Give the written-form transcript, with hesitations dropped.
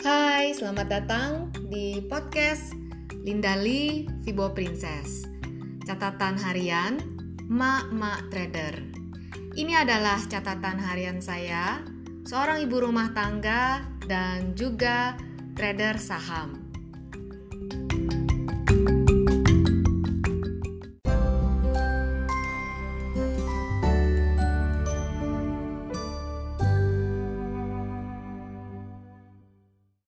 Hai, selamat datang di podcast Lindali Vibo Princess. Catatan harian Mak Trader. Ini adalah catatan harian saya, seorang ibu rumah tangga dan juga trader saham.